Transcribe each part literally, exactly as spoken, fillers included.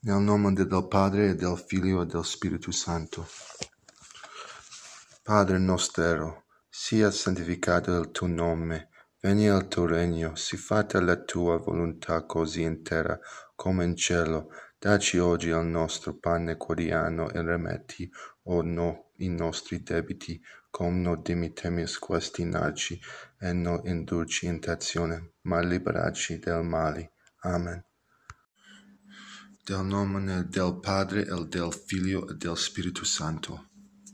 Nel nome del Padre, e del Figlio, e del Spirito Santo. Padre nostro, sia santificato il tuo nome, venga il tuo regno, sii fatta la tua volontà così in terra come in cielo. Dacci oggi il nostro pane quotidiano e rimetti, o no, i nostri debiti, come noi dimittiamo questi nostri, e non indurci in tentazione, ma liberaci del male. Amen. Del nome del Padre, e del Figlio, e del Spirito Santo.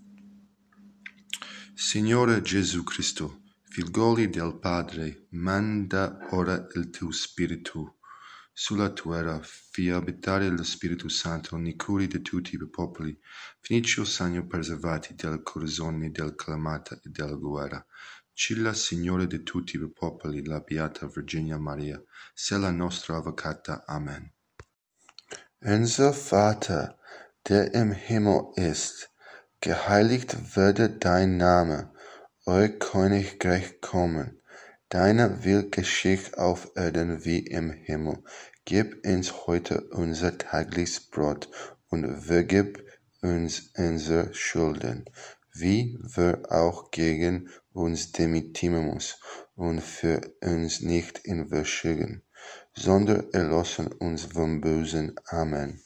Signore Gesù Cristo, figlioli del Padre, manda ora il tuo Spirito sulla terra, fai abitare lo Spirito Santo nei cuori di tutti i popoli, finisci il segno preservati delle corazzoni, della calamata e della guerra. Cilla, Signore di tutti i popoli, la Beata Virginia Maria, sia la nostra avvocata. Amen. Unser Vater, der im Himmel ist, geheiligt werde dein Name, euer Königreich kommen, deiner Will geschieht auf Erden wie im Himmel. Gib uns heute unser tägliches Brot und vergib uns unsere Schulden, wie wir auch gegen uns dimittieren, und führ uns nicht in Versuchung, sondern erlöse uns vom Bösen. Amen.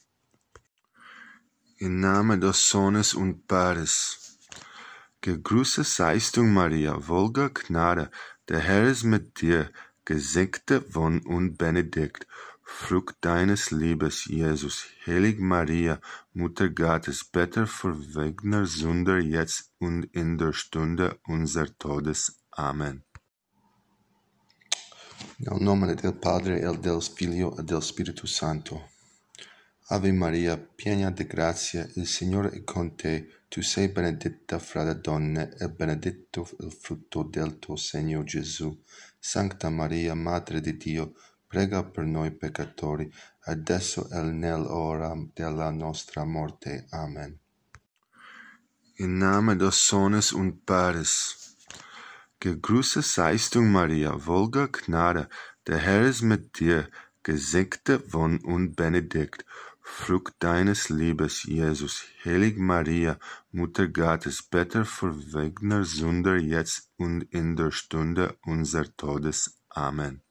Im Namen des Sohnes und Pares. Gegrüßet seist du, Maria, voller Gnade, der Herr ist mit dir, gesegnete von und benedikt, Frucht deines Leibes, Jesus. Heilige Maria, Mutter Gottes, bitte für wir Sünder, jetzt und in der Stunde unser Todes. Amen. Nel nome del Padre, e del Figlio, e del Spirito Santo. Ave Maria, piena di grazia, il Signore è con te. Tu sei benedetta fra le donne, e benedetto il frutto del tuo seno, Gesù. Santa Maria, Madre di Dio, prega per noi peccatori, adesso e nell'ora della nostra morte. Amen. Im Namen des Sohnes und Pares. Gegrüßet seist du, Maria, voller Gnade, der Herr ist mit dir, gesegnete von und benedikt, Frucht deines Leibes, Jesus. Heilige Maria, Mutter Gottes, bitte für wir Sünder, jetzt und in der Stunde unser Todes. Amen.